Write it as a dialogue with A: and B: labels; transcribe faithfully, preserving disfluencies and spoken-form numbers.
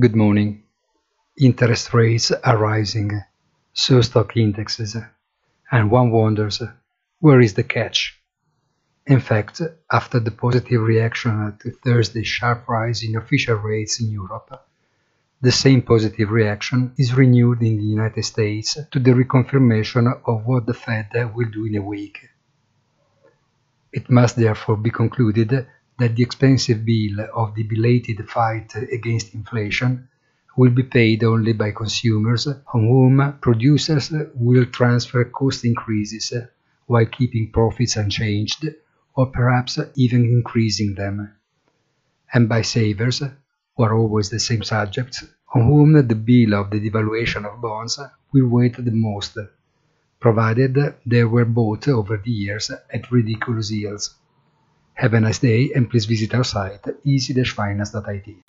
A: Good morning. Interest rates are rising, so stock indexes, and one wonders, where is the catch? In fact, after the positive reaction to Thursday's sharp rise in official rates in Europe, the same positive reaction is renewed in the United States to the reconfirmation of what the Fed will do in a week. It must therefore be concluded that the expensive bill of the belated fight against inflation will be paid only by consumers on whom producers will transfer cost increases while keeping profits unchanged or perhaps even increasing them, and by savers, who are always the same subjects, on whom the bill of the devaluation of bonds will weigh the most, provided they were bought over the years at ridiculous yields. Have a nice day and please visit our site easy dash finance dot I T.